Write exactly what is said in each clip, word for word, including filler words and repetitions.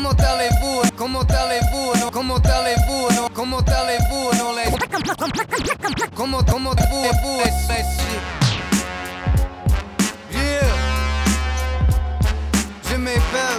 Comment allez-vous? Comment allez-vous? Non, comment allez-vous? Non, comment allez-vous? Non, les... Comment, comment vous, vous, les, les shit. Yeah. Je m'appelle.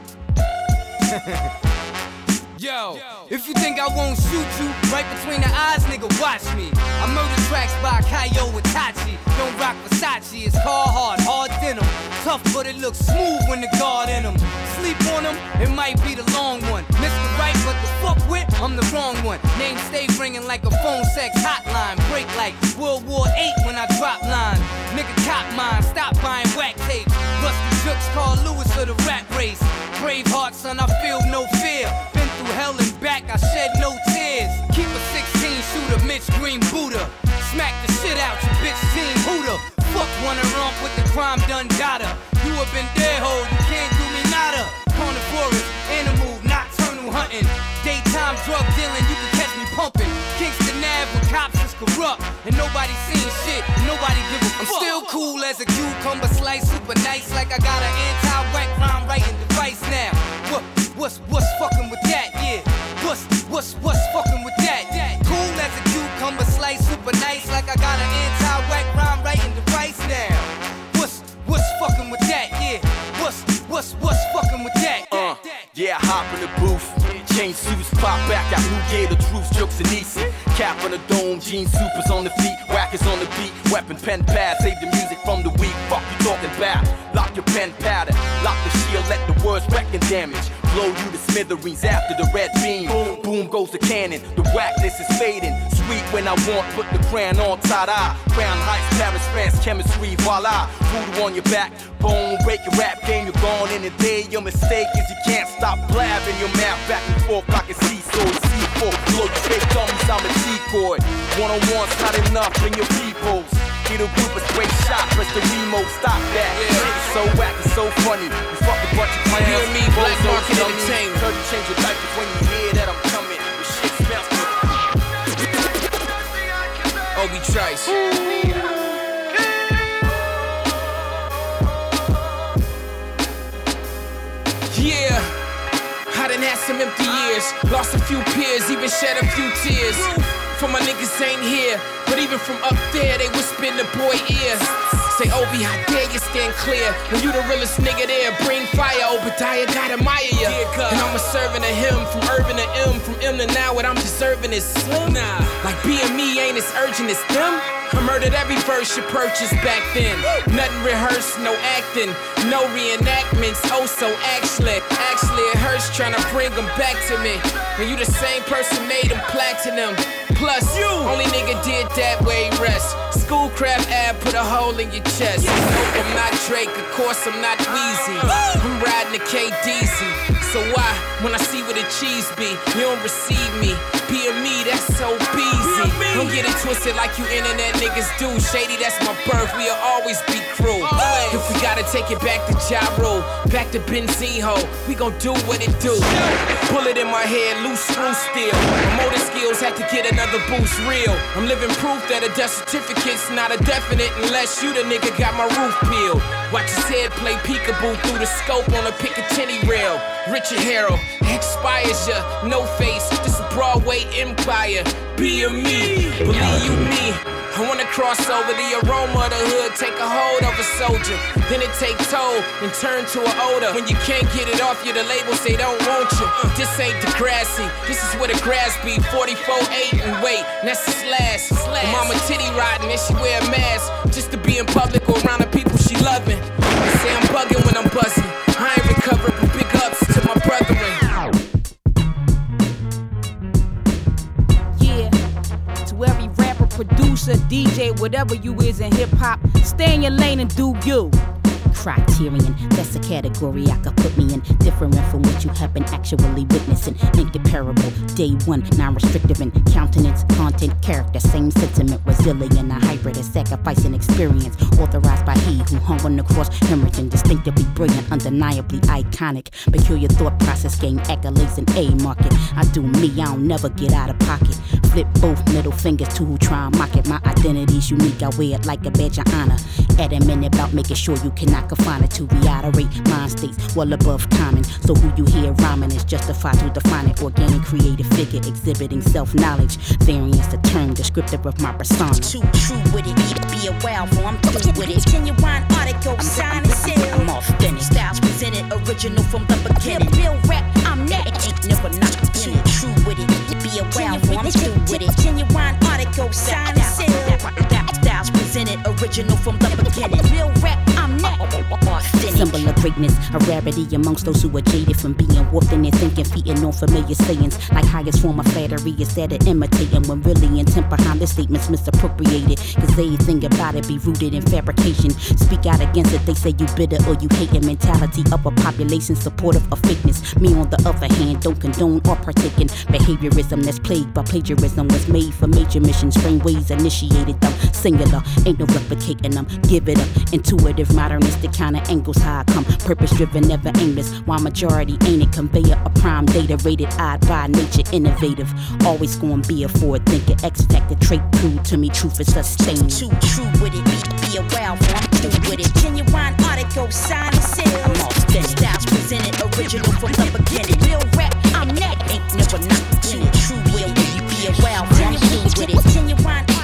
Yo, if you think I won't shoot you right between the eyes, nigga, watch me. I murder tracks by Kaio Itachi. Don't rock Versace, it's Carhartt, hard denim. Tough, but it looks smooth when the guard in them. Sleep on them, it might be the long one. Mister Right, but the fuck with, I'm the wrong one. Name stay ringing like a phone sex hotline. Break like World War Eight when I drop line. Nigga cop mine, stop buying whack tapes. Rusty Jooks, Carl Lewis of the rap race. Braveheart, son, I feel no fear. Been through hell and back, I shed no tears. Keep a sixteen shooter, Mitch Green Buddha. Smack the shit out your bitch team hooter. Fuck wanna romp with the crime done data. You have been dead ho, you can't do me nada. Carnivorous, animal, nocturnal hunting. Daytime drug dealing, you can catch me pumping. Kingston Ave with cops is corrupt. And nobody seen shit, nobody give a fuck. I'm still cool as a cucumber slice, super nice like I got an anti-whack crime writing device now. What, what's, what's fucking with that, yeah? What's, what's, what's fucking with that? Cool as a cucumber slice, super nice like I got an anti-whack crime writing device now. What's, what's fucking with that, yeah? What's, what's, what's fucking with that? Uh, yeah, I hop in the booth. Chain suits pop back out, who gave the truth, jokes and easy. Cap on the dome, jean supers on the feet, whackers on the beat, weapon, pen, pad, save the music from the weak. Fuck you talking about? Lock your pen powder, lock the shield, let the words wreck and damage. Blow you to smithereens after the red beam. Boom, boom goes the cannon, the whackness is fading. Sweet when I want, put the crown on tie-dye. Crown heights, Paris, France, chemistry, voila. Voodoo on your back, bone, break your rap game, you're gone in a day. Your mistake is you can't stop blabbing your mouth back and forth like a seesaw. C four, blow your fake dummies, I'm a decoy. One-on-one's not enough, bring your peoples. Get a group of straight shot, press the remote, stop that. Yeah. Shit is so whack, it's so funny. You fuck a bunch of clowns. You and me, Black Market Entertainment. Tell you change your diapers when you hear that I'm coming. The shit smells good. Obi Trice. Yeah, I done had some empty years, lost a few peers, even shed a few tears. For my niggas ain't here, but even from up there, they whisper in the boy ear. Say, Obi, how dare you stand clear? When you the realest nigga there, bring fire. Obadiah God admire ya. And I'm a servant of him, from urban to M, from M to now. What I'm deserving is slim. Nah, like being me ain't as urgent as them. I murdered every verse you purchased back then. Nothing rehearsed, no acting, no reenactments. Oh, so actually, actually it hurts trying to bring them back to me. When you the same person made them platinum. Plus, you only nigga did that way rest. Schoolcraft ad put a hole in your chest. Nope, I'm not Drake, of course I'm not Weezy. I'm riding the K D Z. So why, when I see where the cheese be, you don't receive me? Being me, that's so easy. Don't get it twisted like you internet niggas do. Shady, that's my birth, we'll always be crew. If we gotta take it back to Ja Rule, back to Benzino, we gon' do what it do. Bullet in my head, loose screw steel. My motor skills had to get another boost real. I'm living proof that a death certificate's not a definite unless you the nigga got my roof peeled. Watch his head play peekaboo through the scope on a Picatinny rail. Richard Harrow expires ya, no face. This a Broadway empire. Be a me, believe you me. I wanna cross over the aroma of the hood, take a hold of a soldier. Then it take toll and turn to an odor. When you can't get it off you, the labels they don't want you. This ain't Degrassi, this is where the grass be. forty-four eight and wait, and that's a slash. slash. Mama titty riding and she wear a mask just to be in public or around the people she loving. They say I'm bugging when I'm buzzing. I ain't recovered, but big ups to my brethren. Yeah, to every rapper, producer, D J, whatever you is in hip hop, stay in your lane and do you. Criterion, that's a category I could put me in. Different from what you have been actually witnessing. Incomparable, day one, non-restrictive in countenance, content, character, same sentiment, resilient, a hybrid, a sacrificing experience. Authorized by he who hung on the cross, hemorrhaging, distinctively brilliant, undeniably iconic. Peculiar thought process, gain accolades in A market. I do me, I don't never get out of pocket. Flip both middle fingers to who try and mock it. My identity's unique, I wear it like a badge of honor. Adamant about making sure you cannot confine it to reiterate mind states well above common. So who you hear rhyming is justified to define it. Organic creative figure exhibiting self-knowledge. Variance the term descriptive of my persona. Too true with it, be a wild for I'm through with it. Genuine article, sign and seal. I'm authentic. Styles presented, original from the beginning. Real rap, I'm next. Ain't never not too true with it, be a wild for I'm through with it. Genuine article, sign and seal. Styles presented, original from the beginning. Real rap, I'm next. Symbol of greatness, a rarity amongst those who are jaded from being warped in their thinking, feeding on familiar sayings. Like highest form of flattery is that of imitating, when really intent behind the statements misappropriated. Cause everything about it be rooted in fabrication. Speak out against it, they say you bitter or you hate a mentality of a population supportive of fakeness. Me on the other hand, don't condone or partake in behaviorism that's plagued by plagiarism. Was made for major missions, frame ways initiated them. Singular, ain't no replicating them. Give it up, intuitive, modernistic kind of angles. How I come, purpose driven, never aimless. While majority ain't a conveyor, a prime data rated odd by nature, innovative. Always gonna be a forward thinker, X factor trait true to me, truth is sustained. Too true with it, be, be a wild for I'm through with it. Genuine article, sign and seal. I'm authentic. Styles presented, original from the beginning. Real rap, I'm next. Ain't never not too true with it, be a wild for I'm through with it. Genuine article.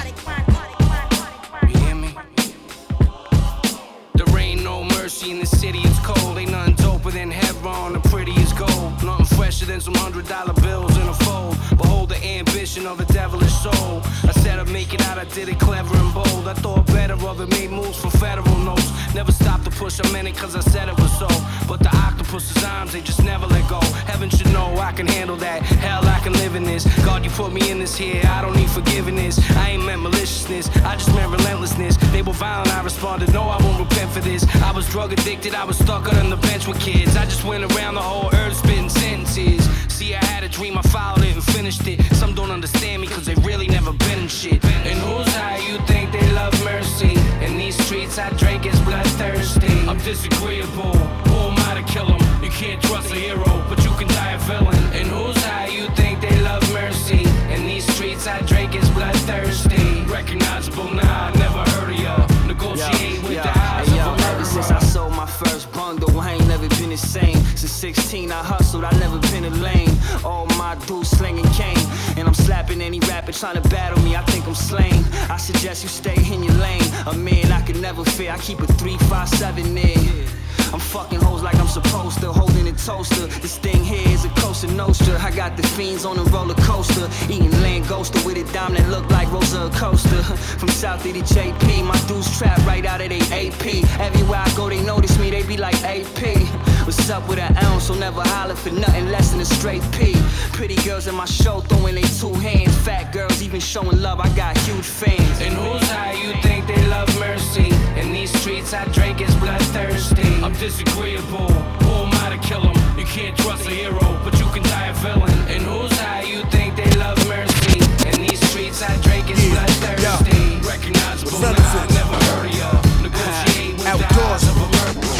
In the city it's cold, ain't nothing doper than Hebron, the prettiest gold. Nothing fresher than some hundred dollar bills in a fold. Behold the ambition of a devilish soul. I said I'd make it out, I did it clever and bold. I thought better of it, made moves for federal notes. Never stopped to push a minute cause I said it was so. But the octopus's arms, they just never let go. Heaven should know I can handle that, hell I can live in this. God you put me in this here, I don't need forgiveness. I ain't meant maliciousness, I just meant relentlessness. They were violent, I responded, no I won't repent for this. I was drug addicted, I was stuck on the bench with kids. I just went around the whole earth spitting sentences. See I had a dream, I followed it and finished it. Some don't understand me cause they really never been in shit. And who's high, you think they love mercy? In these streets I drink is bloodthirsty. I'm disagreeable, who am I to kill him? You can't trust a hero, but you can die a villain. And who's high, you think they love mercy? In these streets I drink is bloodthirsty. Recognizable, nah, I never heard of ya. Negotiate with the eyes hey, of yo, a murderer. ever since I sold my first bundle, I ain't never been the same. Since sixteen I hustled, I never been a lame. All my dudes slinging cane, and I'm slapping any rapper trying to battle me. I think I'm slain. I suggest you stay in your lane. A man I could never fear. I keep a three five seven in. I'm fucking hoes like I'm supposed to, holding a toaster. This thing here is a Cosa Nostra. I got the fiends on a roller coaster, eating Langosta with a dime that look like Rosa Acosta. From South to the J P, my dudes trap right out of they A P. Everywhere I go, they notice me, they be like A P. What's up with an ounce? So never holler for nothing less than a straight P. Pretty girls in my show throwing they two hands. Fat girls even showing love, I got huge fans. And who's high, you think they love mercy? In these streets I drink is bloodthirsty. I'm disagreeable, who am I to kill him? You can't trust a hero, but you can die a villain. And who's high, you think they love mercy? In these streets I drink is yeah. bloodthirsty. Yo. Recognizable, nah, I never heard of ya. Negotiate with Outdoors. the eyes of a murderer.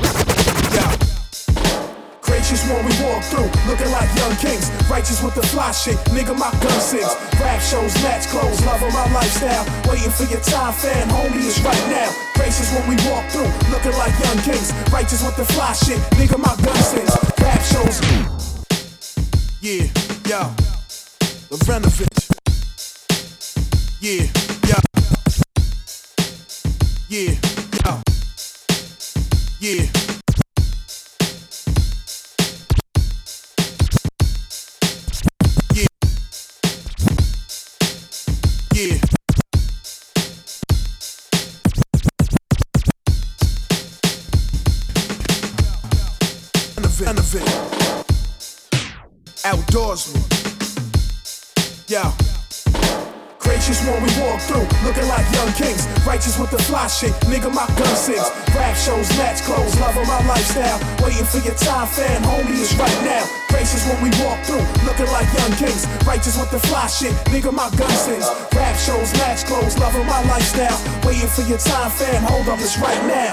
Yeah. Gracious when we walk through, looking like young kings. Righteous with the fly shit, nigga my gun sings. Rap shows, match clothes, loving my lifestyle. Waiting for your time, fam, homie, is right now. Gracious when we walk through, looking like young kings. Righteous with the fly shit, nigga my gun sings. Rap shows. Yeah, yo, Lovrinovic. Yeah, yo. Yeah, yo. Yeah. Yeah. Outdoorsman. Yeah. Gracious when we walk through, looking like young kings. Righteous with the fly shit, nigga my gun sings. Rap shows, match clothes, loving my lifestyle. Waiting for your time, fam, homie, is right now. Gracious when we walk through, looking like young kings. Righteous with the fly shit, nigga my gun sings. Rap shows, match clothes, loving my lifestyle. Waiting for your time, fam, hold up, it's right now.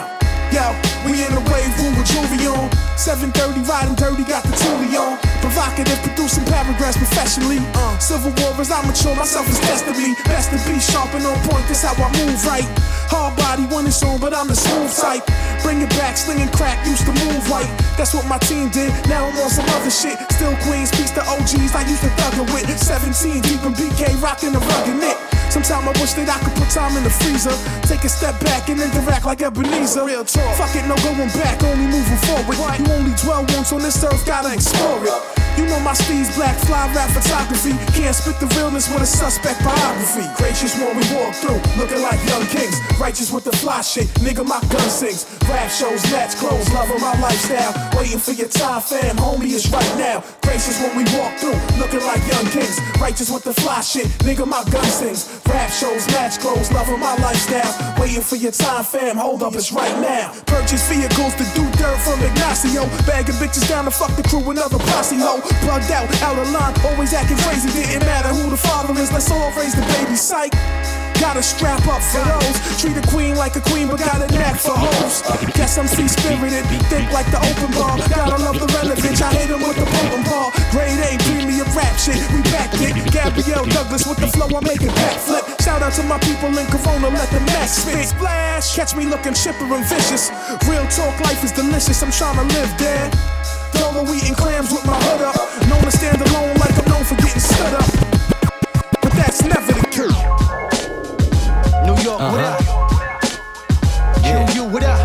Yo, we in the wave room with jewelry on. seven thirty, riding dirty, got the Thule on. Provocative, producing paragraphs professionally. Uh, Civil War as I mature, myself is destiny. Best to be sharp and on point, that's how I move right. Hard body when it's on, but I'm the smooth type. Bring it back, slinging crack, used to move white. That's what my team did, now I'm on some other shit. Still Queens, peace to O Gs I used to thug it with. seventeen, deep in B K, rocking the rugged knit. Sometimes I wish that I could put time in the freezer. Take a step back and interact like Ebenezer. Real talk. Fuck it, no going back, only moving forward. You only dwell once on this earth, gotta explore it. You know my steez, black fly rap photography. Can't spit the realness with a suspect biography. Gracious when we walk through, looking like young kings. Righteous with the fly shit, nigga my gun sings. Rap shows, match clothes, loving my lifestyle. Waiting for your time, fam, homie, it's right now. Gracious when we walk through, looking like young kings. Righteous with the fly shit, nigga my gun sings. Rap shows, match clothes, loving my lifestyle. Waiting for your time, fam, hold up, it's right now. Purchase vehicles to do dirt from Ignacio. Bagging bitches down to fuck the crew, another posse ho. Plugged out, out of line, always acting crazy. Didn't matter who the father is, let's all raise the baby. Psych. Gotta strap up for those. Treat a queen like a queen, but got a knack for hoes. Guess I'm free-spirited, think like the open bar. Gotta love the relevance, I hit him with the potent bar. Grade A, premium rap shit, we backed it. Gabrielle Douglas with the flow, I make it backflip. Shout out to my people in Corona, let the max spit. Splash, catch me looking chipper and vicious. Real talk, life is delicious, I'm tryna live there. Dolo eating clams with my hood up. Known to stand alone like I'm known for getting stood up. But that's never the cure. New York, uh-huh. What up? Yeah. Q U, what up?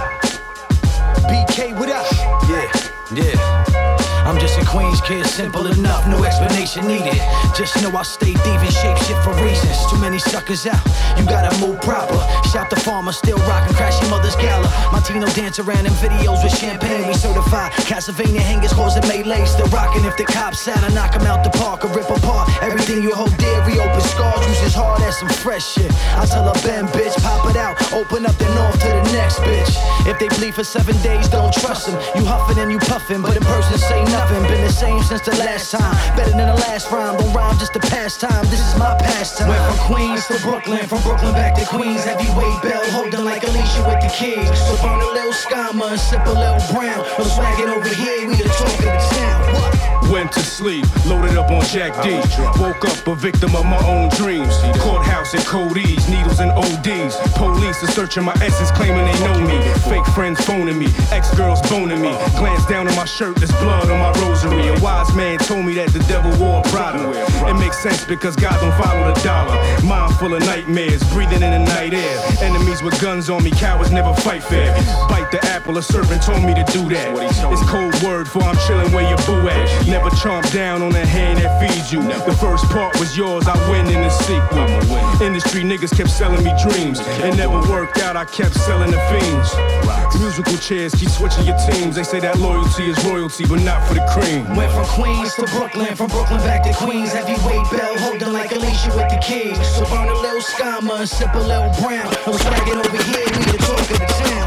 B K, what up? Yeah, yeah. I'm just a Queens kid, simple enough, no explanation needed. Just know I stay thieving, shape shit for reasons. Too many suckers out, you gotta move proper. Shout the farmer, still rockin' crashing mother's gala. Martino dance around in videos with champagne, we certified. Castlevania hangers causing melee, still rockin'. If the cops out, I knock 'em out the park or rip apart everything you hold dear. Reopen scars, use as hard as some fresh shit. I tell her, bend, bitch, pop it out, open up then off to the next bitch. If they bleed for seven days, don't trust them. You huffin' and you puffin', but in person say nothing. Been the same since the last time. Better than the last rhyme. Don't rhyme just to pass time. This is my pastime. Went from Queens to Brooklyn, from Brooklyn back to Queens. Heavyweight bell holding like Alicia with the keys. So burn a little Scama and sip a little brown. No swaggin' over here, we the talk of the town. What? Went to sleep, loaded up on Jack D. Woke up a victim of my own dreams. Courthouse and Cody's, needles and O Ds. Police are searching my essence, claiming they know me. Fake friends phoning me, ex-girls boning me. Glance down on my shirt, there's blood on my rosary. A wise man told me that the devil wore Prada. It makes sense because God don't follow the dollar. Mind full of nightmares, breathing in the night air. Enemies with guns on me, cowards never fight fair. Bite the apple, a serpent told me to do that. It's cold word for I'm chilling where your boo at. Never chomp down on the hand that feeds you. The first part was yours, I win in the sequel. Industry niggas kept selling me dreams. It never worked out, I kept selling the fiends. Musical chairs keep switching your teams. They say that loyalty is royalty, but not for the cream. Went from Queens to Brooklyn, from Brooklyn back to Queens. Heavyweight bell holding like Alicia with the keys. So burn a little Scama and sip a little brown. No swaggin' over here, we the talk of the town.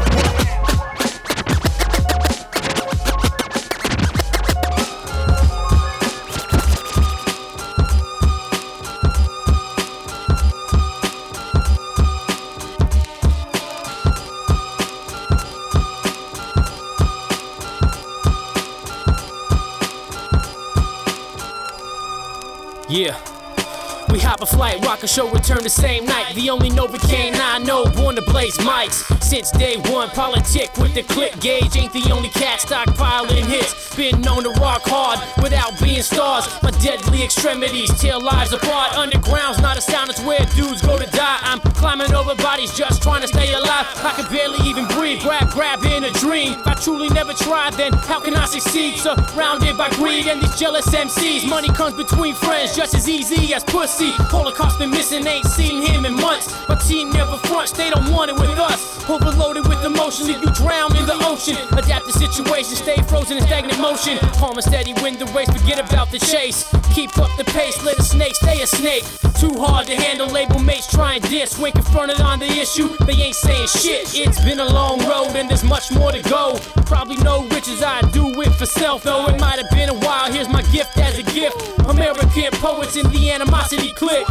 Yeah. We hop a flight, rock a show, return the same night. The only Novocaine I know, born to blaze mics. Since day one, politic with the clip gauge. Ain't the only cat stockpiling hits. Been known to rock hard without being stars. My deadly extremities tear lives apart. Underground's not a sound, it's where dudes go to die. I'm climbing over bodies just trying to stay alive. I can barely even breathe, grab, grab in a dream. If I truly never tried, then how can I succeed? Surrounded by greed and these jealous M Cs. Money comes between friends just as easy as pussy. Holocaust been missing, ain't seen him in months. My team never fronts, they don't want it with us. Overloaded with emotion, leave you drown in the ocean. Adapt the situation, stay frozen in stagnant motion. Calm and steady, win the race, forget about the chase. Keep up the pace, let a snake stay a snake. Too hard to handle, label mates try and diss. When confronted on the issue, they ain't saying shit. It's been a long road and there's much more to go. Probably no riches, I do it for self. Though it might have been a while, here's my gift as a gift. American poets in the animosity clique.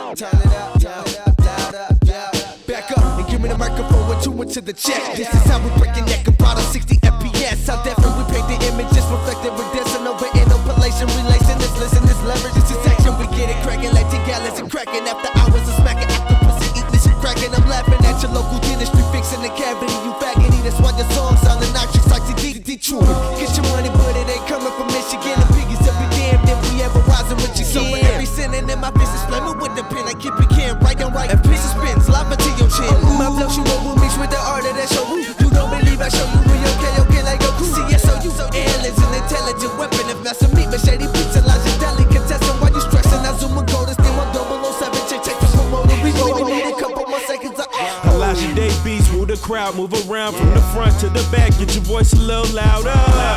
Turn it up, turn it up, loud up, yeah. Back up and give me the microphone with two into the check. This is how we break your neck about a sixty F P S. How definitely we paint the images reflected with this and over interpolation, relation. This listen, this leverage, this is action. We get it cracking like the gallons and cracking after hours of smacking. Octopus and eat this and cracking. I'm laughing at your local dentistry, fixing the cavity. You faggoty, that's why your song sounding noxious like C D Detroit. Get your money, but it ain't coming from Michigan. The piggies up be damned if we ever rising with you. So for every sinning in my business, flame it with the pen. I keep it can right and right. And pieces spins, lava to your chin. My flow shoot over mixed with the art of that show. You don't believe I show you real okay, okay, like Goku. C S O, you so aliens, an intelligent weapon. If not some meat, machete beats and Elijah delicatessen. Why you stressing? I zoom and go to steal one double oh seven. Check, check the promoter. We go, we need a couple more seconds. Elijah Day beats, move the crowd, move around from the front to the back. Get your voice a little louder.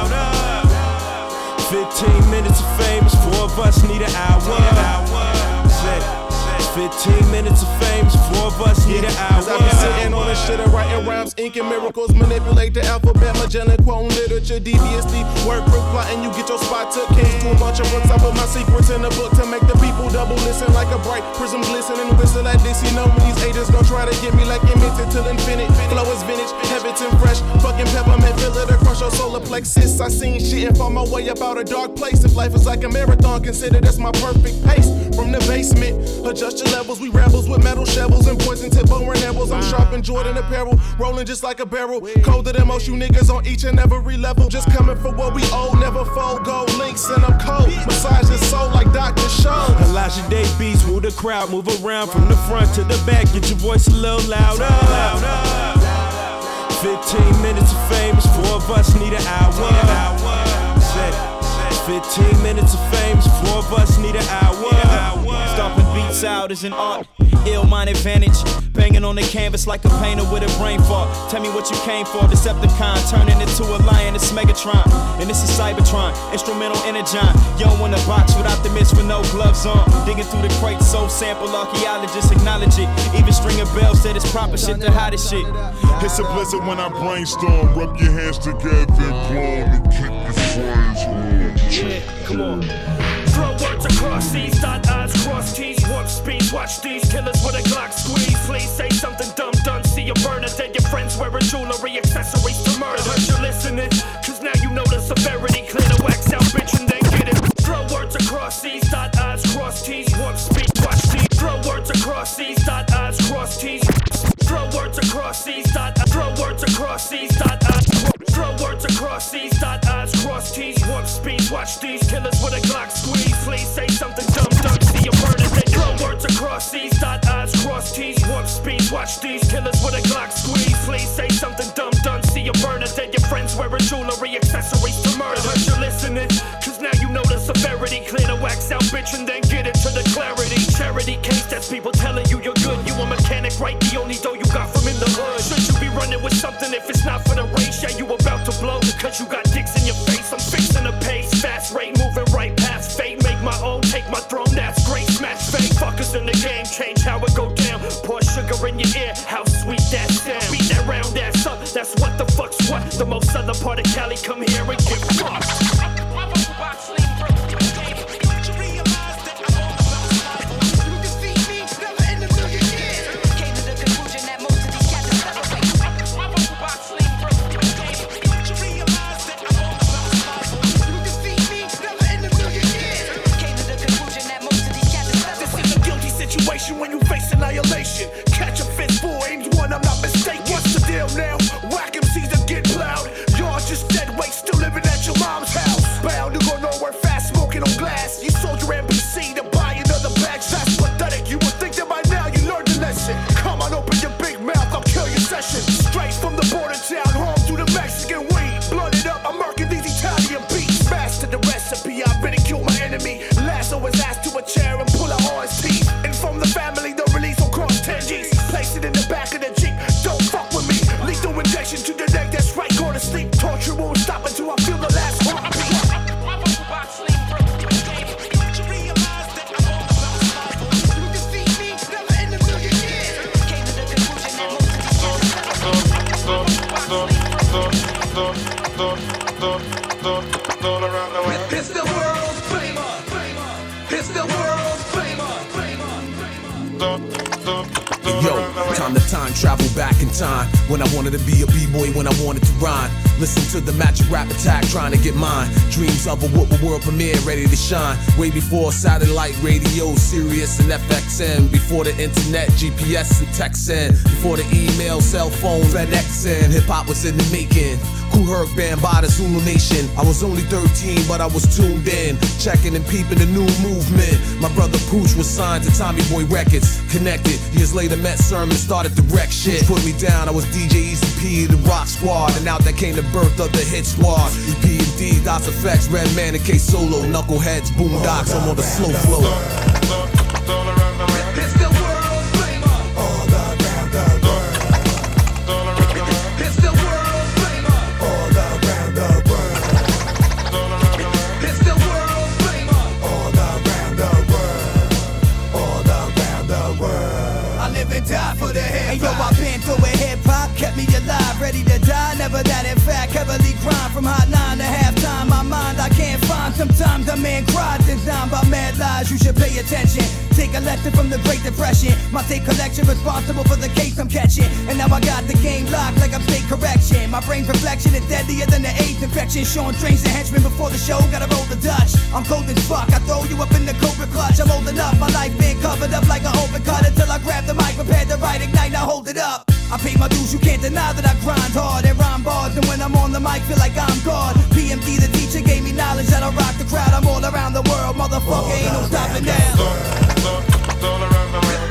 Fifteen minutes of fame is four of us need an hour. Fifteen minutes of fame is four of us need an hour. I be sitting on this shit and writing rhymes, inking miracles, manipulate the alphabet, Magellan quoting literature, devious deep word proof plotting. You get your spot took, came to a bunch of books. I put my secrets in the book to make the people double listen like a bright prism glisten and whistle at this. You know when these haters gon' try to get me like immense till infinite. Flow is vintage, habits and fresh, fucking peppermint, fill it across your solar plexus. I seen shit and found my way about a dark place. If life is like a marathon, consider that's my perfect pace. From the basement, adjust your levels. We rebels with metal shovels and poison tip bone nibbles. I'm sharp in Jordan apparel, rolling just like a barrel. Colder than most you niggas on each and every level. Just coming for what we owe, never fold. Gold links and I'm cold. Massage your soul like Doctor Show. Elijah Day beats, move the crowd, move around from the front to the back. Get your voice a little louder. Fifteen minutes of fame is four of us need an hour. Fifteen minutes of fame is four of us need an hour. Stomping beats out is an art, ill mind advantage. Banging on the canvas like a painter with a brain fart. Tell me what you came for, Decepticon turning into a lion, it's Megatron. And this is Cybertron, instrumental energon. Yo in the box without the mist with no gloves on. Digging through the crates, soul sample, archaeologists acknowledge it. Even Stringer Bell said it's proper shit, the hottest shit. It's a blizzard when I brainstorm. Rub your hands together and blow and keep your friends warm. Yeah, come on. Throw words across these, dot I's, cross T's, warp speed. Watch these killers with a Glock squeeze. Please say something dumb, done. See a burner, then your friends wearing jewelry, accessories to murder. I heard you listening, cause now you know the severity. Clear the wax out, bitch, and then get it. Throw words across these, dot I's, cross T's, warp speed. Watch these. Throw words across these, dot I's, cross T's. Throw words across these, dot I. Throw words across these, dot I. Throw words across these, dot I's, cross T's, warp speed. Watch these killers with a Glock squeeze. Please say something dumb, done. See a burner, then throw words across these, dot I's, cross T's, warp speed. Watch these killers with a Glock squeeze. Please say something dumb, done. See a burner, then your friends wearing jewelry, accessories to murder. I heard you listening, cause now you know the severity. Clear the wax out, bitch, and then get it to the clarity. Charity case, that's people telling you you're good. You a mechanic, right? The only dough you got from in the hood. Should you be running with something if it's not for the race? Yeah, you about to blow, cause you got dicks in your face. I'm fixing the pace, fast rate, moving right past fate. Make my own, take my throne, that's great. Smash fake, fuckers in the game, change how it go down. Pour sugar in your ear, how sweet that sound. Beat that round ass up, that's what the fuck's what. The most southern part of Cali, come here and get fucked. When you face annihilation, catch a fistful, aims one, I'm not mistaken. What's the deal now? Whack M Cs that get plowed. You're just dead weight, still living at your mom's house. Bound to go nowhere fast, smoking on glass. You sold your N B C to buy another bag. That's pathetic. You would think that by now you learned the lesson. Come on, open your big mouth, I'll kill your session. Straight from the border town, home to the Mexican weed. Blooded up, I'm marking these Italian beats. Master the recipe, I ridicule my enemy. Lasso his ass to a chair and pull out all his teeth. From the family, the release will cost ten G's. Place it in the back of the Jeep, don't fuck with me. Lethal injection to the neck, that's right, go to sleep. Torture won't stop until I feel the last heartbeat. It's the world's famer. It's the world's famer. Yo, time to time travel back in time. When I wanted to be a b-boy, when I wanted to rhyme. Listen to the magic rap attack, trying to get mine. Dreams of a whoop world premiere, ready to shine. Way before satellite radio, Sirius and F X M. Before the internet, G P S and texting. Before the email, cell phone, FedExing. Hip-hop was in the making. Kool Herc band by the Zulu Nation. I was only thirteen, but I was tuned in. Checking and peeping the new movement. My brother Pooch was signed to Tommy Boy Records. Connected, years later met Sermon, started to wreck shit. Put me down, I was D J Easy P, the Rock Squad. And out that came the birth of the Hit Squad. E P and D, DOS Effects, Redman and K Solo. Knuckleheads, Boondocks, I'm on the slow flow. Hey yo, I've been through it, hip-hop kept me alive, ready to die, never that in fact, heavily grind from hot nine to halftime, my mind I can't find, sometimes a man cries, designed by mad lies, you should pay attention, take a lesson from the Great Depression, my tape collection responsible for the case I'm catching, and now I got the game locked like I'm state correction, my brain's reflection is deadlier than the AIDS infection, Sean Trains the henchman before the show, gotta roll the Dutch, I'm cold as fuck, I throw you up in the Cobra clutch, I'm old enough, my life been covered up like an open cut until I grab the mic, prepared to write, ignite, now hold it up. I pay my dues, you can't deny that I grind hard and rhyme bars, and when I'm on the mic, feel like I'm God. P M D, the teacher, gave me knowledge that I rock the crowd. I'm all around the world, motherfucker, ain't no stopping now. All around the world.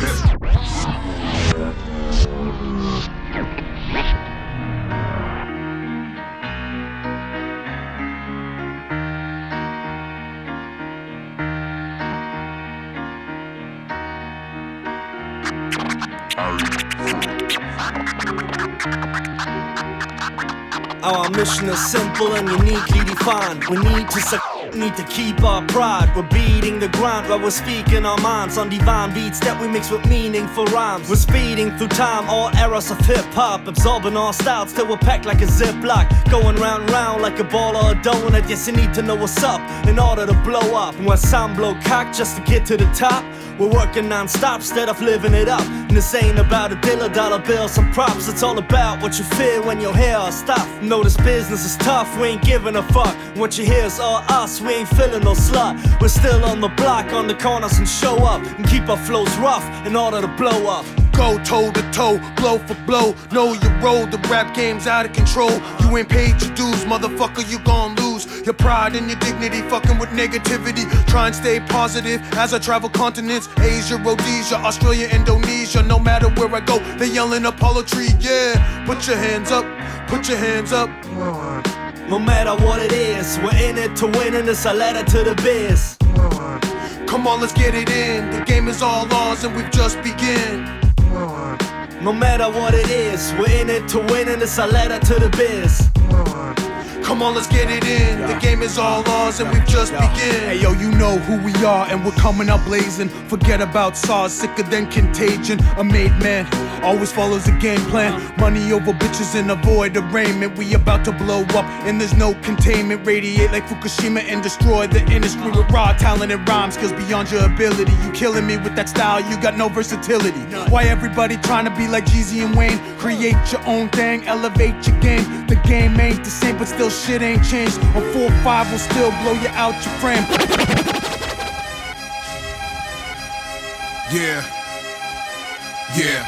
Our mission is simple and uniquely defined. We need to suck, need to keep our pride. We're beating the grind while we're speaking our minds on divine beats that we mix with meaningful rhymes. We're speeding through time, all eras of hip-hop, absorbing all styles till we're packed like a ziplock, going round round like a ball or a donut. Yes, you need to know what's up in order to blow up. When some blow cock just to get to the top, we're working non-stop instead of living it up. And this ain't about a deal of dollar bills and props. It's all about what you feel when you hear our stuff. Know this business is tough, we ain't giving a fuck. What you hear is all us, we ain't feeling no slut. We're still on the block, on the corners and show up, and keep our flows rough in order to blow up. Go toe to toe, blow for blow. Know your role, the rap game's out of control. You ain't paid your dues, motherfucker, you gon' lose your pride and your dignity, fucking with negativity. Try and stay positive as I travel continents. Asia, Rhodesia, Australia, Indonesia. No matter where I go, they yelling Apollo tree, yeah. Put your hands up, put your hands up. No matter what it is, we're in it to win, and it's a letter to the biz. Come on, let's get it in. The game is all ours and we've just begun. No matter what it is, we're in it to win, and it's a letter to the biz. Come on, let's get it in. The game is all ours and we've just begun. Hey yo, you know who we are and we're coming up blazing. Forget about SARS, sicker than contagion. A made man always follows a game plan. Money over bitches and avoid arraignment. We about to blow up and there's no containment. Radiate like Fukushima and destroy the industry with raw talent and rhyme skills beyond your ability. You killing me with that style, you got no versatility. Why everybody trying to be like Jeezy and Wayne? Create your own thing, elevate your game. The game ain't the same, but still shit ain't changed. On four five will still blow you out your frame. Yeah. Yeah.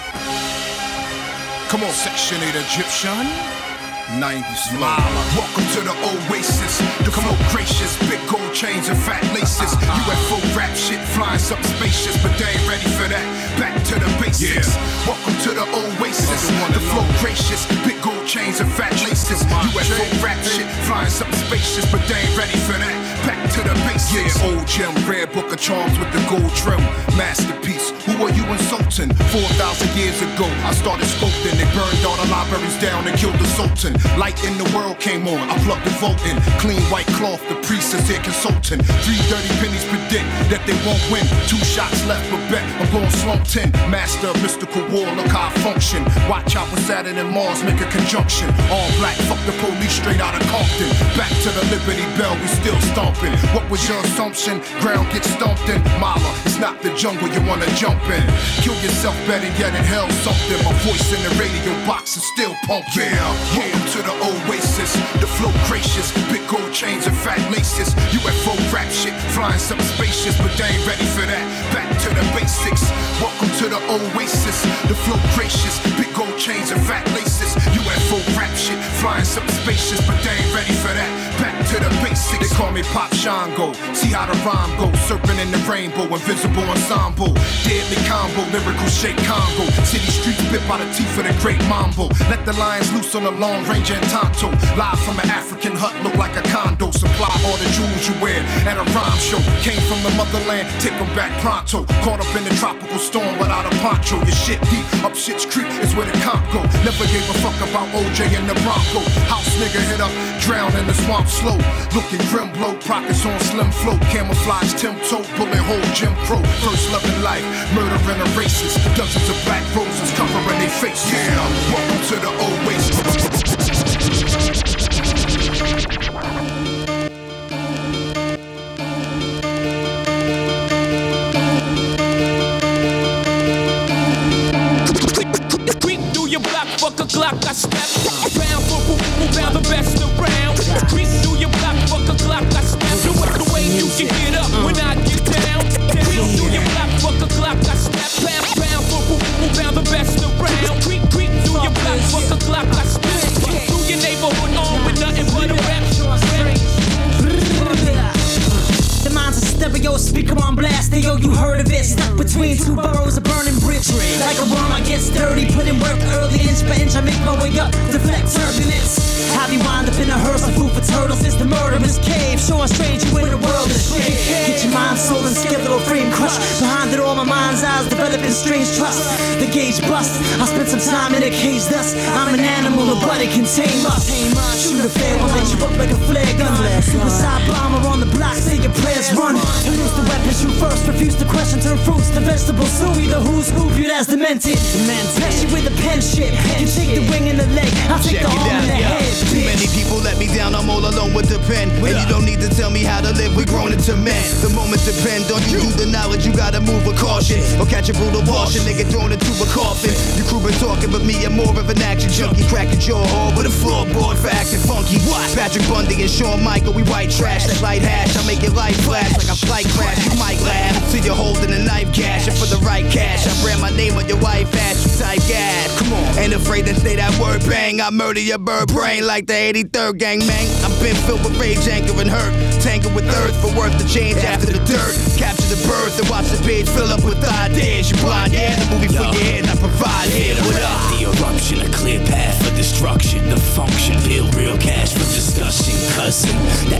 Come on, Section eight Egyptian. nineties flow. Welcome to the Oasis. The flow gracious, big gold chains and fat laces. U F O rap shit flying something spacious, but they ain't ready for that. Back to the basics. Welcome to the Oasis. The flow gracious, big gold chains and fat laces. U F O rap shit flying something spacious, but they ain't ready for that. Back to the basics. Yeah, old gem, rare book of charms with the gold trim. Masterpiece. Who are you insulting? Four thousand years ago, I started sculpting. They burned all the libraries down and killed the Sultan. Light in the world came on, I plugged the vote in. Clean white cloth, the priest is here consulting. Three dirty pennies predict that they won't win. Two shots left for bet, I'm going slump ten. Master of mystical war, look how I function. Watch out with Saturn and Mars make a conjunction. All black, fuck the police straight out of Compton. Back to the Liberty Bell, we still stomping. What was your assumption? Ground gets stomped in. Mama, it's not the jungle you wanna jump in. Kill yourself better yet in hell something. My voice in the radio box is still pumping. Yeah, welcome to the Oasis. The flow gracious, big gold chains and fat laces. U F O rap shit, flying something spacious, but they ain't ready for that. Back to the basics. Welcome to the Oasis. The flow gracious, big gold chains and fat laces. U F O rap shit, flying something spacious, but they ain't ready for that. Back to the basics. They call me Pop Shango. See how the rhyme goes. Serpent in the rainbow, invisible ensemble. Deadly combo, lyrical shake Congo. City streets bit by the teeth of the great Mambo. Let the lions loose on the Long Range and Tonto. Live from an African hut, look like a condo. Supply all the jewels you wear at a rhyme show. Came from the motherland, take them back pronto. Caught up in the tropical storm without a poncho. Your shit deep, up Shit's Creek is where the comp go. Never gave a fuck about O J and the Bronco. House nigga hit up, drown in the swamp slow. Looking grim blow, pockets on slim flow. Camouflage, Tim Toe, bullet hole, Jim Crow. First love in life, murdering a racist. Dozens of black roses covering their faces. Yeah, welcome to the Oasis. Fuck a Glock, I step round for who round the best around. Creep through your block, fuck a Glock, I step. The way, the way you should get up when I get down. Creep through your block, fuck a Glock, I step. Round, round for who round the best around. Creep, creep through your block, fuck a Glock, I step. Through your neighborhood on with nothing but a rap. The mind's a stereo, speaker on blast. Hey, yo, you heard of it? Stuck between two boroughs, a burning bridge. Like a worm, I get sturdy, put in work early, inch by inch. I make my way up, deflect turbulence. How we wind up in a hearse of food for turtles. It's the murderous cave, showing strange you in the world of shade. Get your mind, soul, and skeletal frame crushed. Behind it all, my mind's eyes developing strange trust. The gauge bust. I spent some time in a cage, thus I'm an animal, a body can tame us. Shoot a fair one, light you up like a flare gun. Suicide bomber on the block, say your prayers run. Use the weapon, shoot first, refuse to question, turn fruits to vegetables. Sue either who's who, viewed as demented. Test you with a pen shit. You take the wing in the leg, I take the arm in the head. Too many people let me down, I'm all alone with the pen. And you don't need to tell me how to live, we're grown into men. The moment depends on you, do the knowledge, you gotta move with caution. Or catch a brutal wash, a nigga thrown into a coffin. You crew been talking, but me, I'm more of an action junkie. Cracking jaw hard with a floorboard for acting funky. What? Patrick Bundy and Shawn Michael, we white trash, that light hash. I make your life flash like a flight crash. You might laugh, till you're holding a knife cash. And for the right cash, I brand my name on your wife ass, you type gas. Come on, ain't afraid to say that word bang. I murder your bird brain like the eighty-third gang, man. I've been filled with rage, anger, and hurt. Tangled with earth for worth to change after the dirt. Capture the birth and watch the page fill up with ideas. You blind, yeah, the movie for your head, I provide here. What up? The eruption, a clear path for destruction. The function, build real cash for discussion. Cousin,